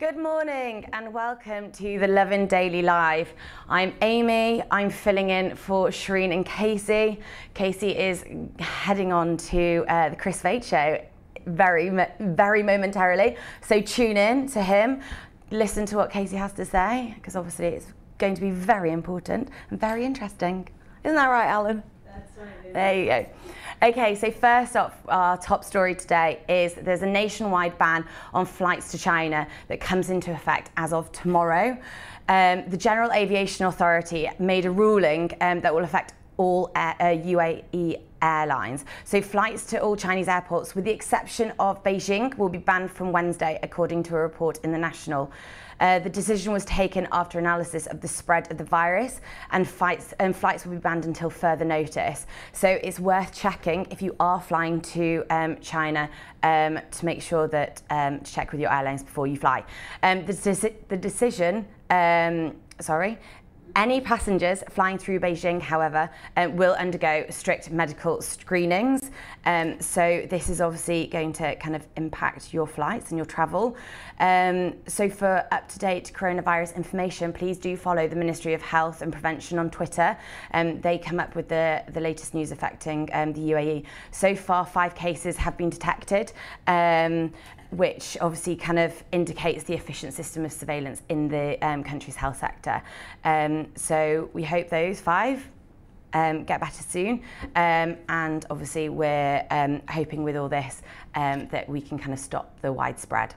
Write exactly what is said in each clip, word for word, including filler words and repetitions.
Good morning and welcome to the Lovin Daily Live. I'm Amy, I'm filling in for Shireen and Casey. Casey is heading on to uh, the Chris Vade show very, very momentarily. So tune in to him, listen to what Casey has to say, because obviously it's going to be very important and very interesting. Isn't that right, Alan? That's right. There you go. Okay, so first off, our top story today is there's a nationwide ban on flights to China that comes into effect as of tomorrow. Um, the General Aviation Authority made a ruling um, that will affect all air, uh, U A E airlines. So flights to all Chinese airports, with the exception of Beijing, will be banned from Wednesday, according to a report in The National. Uh, the decision was taken after analysis of the spread of the virus, and flights, and flights will be banned until further notice. So it's worth checking if you are flying to um, China um, to make sure that um, to check with your airlines before you fly. Um, the, deci the decision, um, sorry. Any passengers flying through Beijing, however, um, will undergo strict medical screenings. Um, so this is obviously going to kind of impact your flights and your travel. Um, so for up-to-date coronavirus information, please do follow the Ministry of Health and Prevention on Twitter. Um, they come up with the, the latest news affecting um, the U A E. So far, five cases have been detected. Um, which obviously kind of indicates the efficient system of surveillance in the um, country's health sector. Um, so we hope those five um, get better soon. Um, and obviously we're um, hoping with all this um, that we can kind of stop the widespread.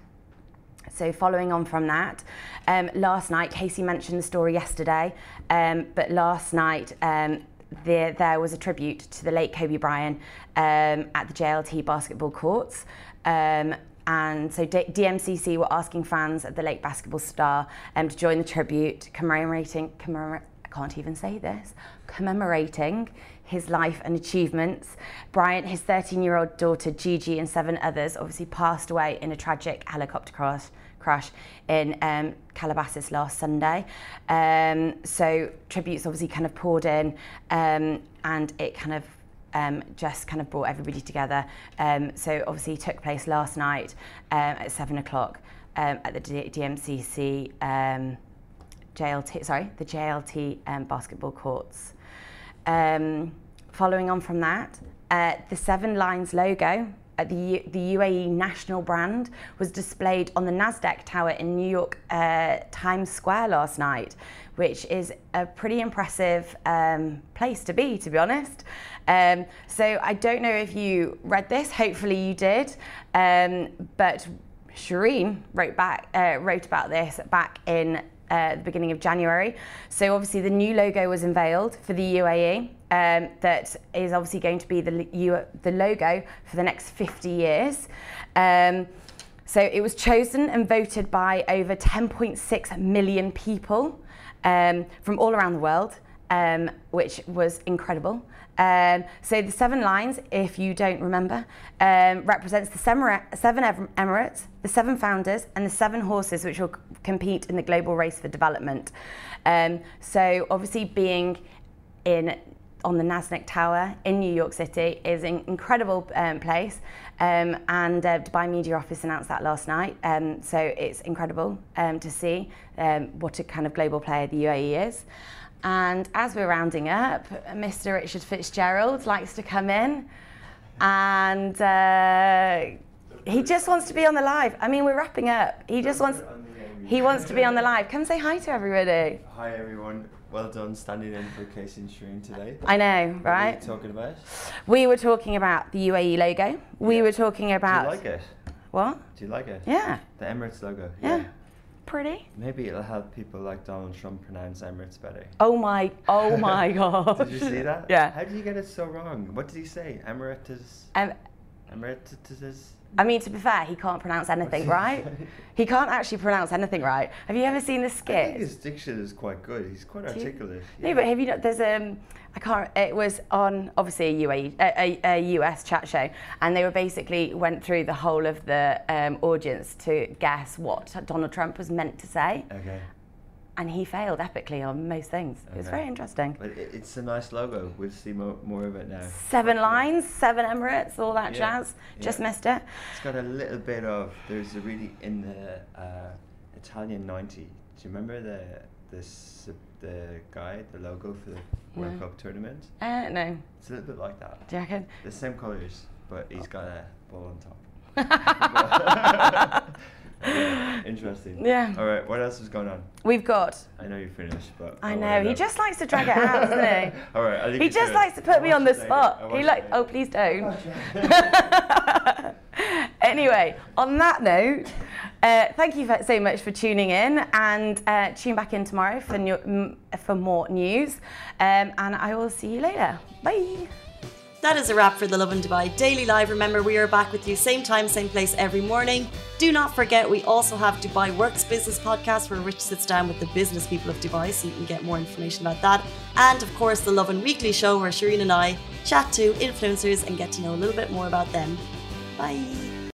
So following on from that, um, last night, Casey mentioned the story yesterday, um, but last night, um, There, there was a tribute to the late Kobe Bryant um, at the J L T basketball courts. Um, and so D DMCC were asking fans of the late basketball star um, to join the tribute, commemorating, commemor I can't even say this, commemorating his life and achievements. Bryant, his thirteen-year-old daughter Gigi, and seven others obviously passed away in a tragic helicopter crash. crash in um, Calabasas last Sunday. Um, so tributes obviously kind of poured in um, and it kind of um, just kind of brought everybody together. Um, so obviously took place last night um, at seven o'clock um, at the D DMCC um, J L T, sorry, the J L T um, basketball courts. Um, following on from that, uh, the Seven Lines logo, Uh, the, U the U A E national brand, was displayed on the NASDAQ tower in New York uh, Times Square last night, which is a pretty impressive um, place to be, to be honest. Um, so I don't know if you read this, hopefully you did, um, but Shireen wrote, back, uh, wrote about this back in Uh, the beginning of January. So obviously the new logo was unveiled for the U A E um, that is obviously going to be the, U the logo for the next fifty years. Um, so it was chosen and voted by over ten point six million people um, from all around the world, um, which was incredible. Um, so the seven lines, if you don't remember, um, represents the seven Emirates, the seven founders, and the seven horses which will compete in the global race for development. Um, so obviously being in on the NASDAQ tower in New York City is an incredible um, place, um, and uh, Dubai Media Office announced that last night. Um, so it's incredible um, to see um, what a kind of global player the U A E is. And as we're rounding up, Mister Richard Fitzgerald likes to come in, and uh, he just wants to be on the live. I mean, we're wrapping up. He just wants, he wants to be on the live. Come say hi to everybody. Hi everyone. Well done standing in for Casey and Shireen today. I know, right? What were you talking about? We were talking about the U A E logo. We yeah. were talking about. Do you like it? What? Do you like it? Yeah. The Emirates logo. Yeah. yeah. Pretty. Maybe it'll help people like Donald Trump pronounce Emirates better. Oh my, oh my God. Did you see that? Yeah. How did you get it so wrong? What did he say? Emirates? Um, Emirates? I mean, to be fair, he can't pronounce anything right. He can't actually pronounce anything right. Have you ever seen the skit? I think his diction is quite good. He's quite articulate. Yeah. No, but have you not, there's um, I can't, it was on obviously a U A E, a, a, a U S chat show, and they were basically went through the whole of the um, audience to guess what Donald Trump was meant to say. Okay. And he failed epically on most things. Okay. It was very interesting. But it, it's a nice logo. We'll see more, more of it now. Seven lines, seven Emirates, all that yeah. jazz. Just yeah. missed it. It's got a little bit of, there's a really in the, uh, Italian ninety. Do you remember the this the guy, the logo for the World No. Cup tournament? Uh, no. It's a little bit like that. Do you reckon? The same colours, but he's got a ball on top. Yeah, interesting. Yeah. All right. What else is going on? We've got. I know you're finished, but I wanna know. He just likes to drag it out, doesn't he? All right. I'll leave He you just it. likes to put I'll me on watch the it spot. later. I'll He watch like. it Oh, later. please don't. Anyway, on that note, uh, thank you for, so much for tuning in, and uh, tune back in tomorrow for new, m- for more news. Um, and I will see you later. Bye. That is a wrap for the Lovin Dubai Daily Live. Remember, we are back with you same time, same place every morning. Do not forget, we also have Dubai Works Business Podcast, where Rich sits down with the business people of Dubai, so you can get more information about that. And of course, the Lovin Weekly Show, where Shireen and I chat to influencers and get to know a little bit more about them. Bye.